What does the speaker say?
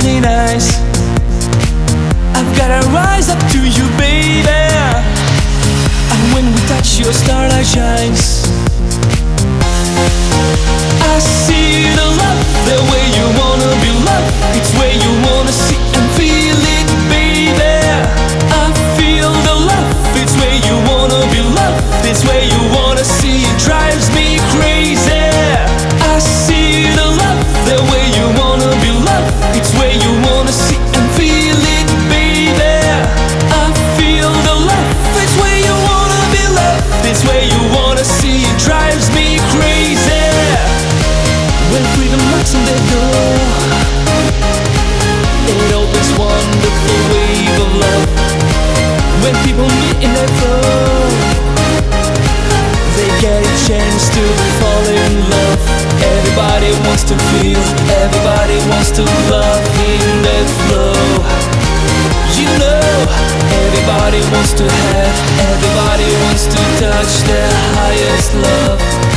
shining eyes. I've gotta rise up to you, baby. And when we touch, your starlight shines. I see the love, the way you wanna be loved. It's where you wanna see and feel it, baby. I feel the love, it's where you wanna be loved. It's where you wanna see, it drives me crazy. I see the love, the way you wanna be loved. It's where you wanna see and feel it, baby. I feel the love, it's where you wanna be loved. It's where you wanna see, it drives me crazy. When freedom knocks on the door, it opens wonderful wave of love. When people meet in their flow, they get a chance to fall in love. Everybody wants to feel, everybody wants to love in that flow. You know, everybody wants to have, everybody wants to touch their highest love.